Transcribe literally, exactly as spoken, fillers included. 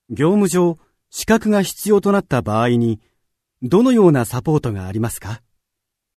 業務上、資格が必要となった場合に、どのようなサポートがありますか？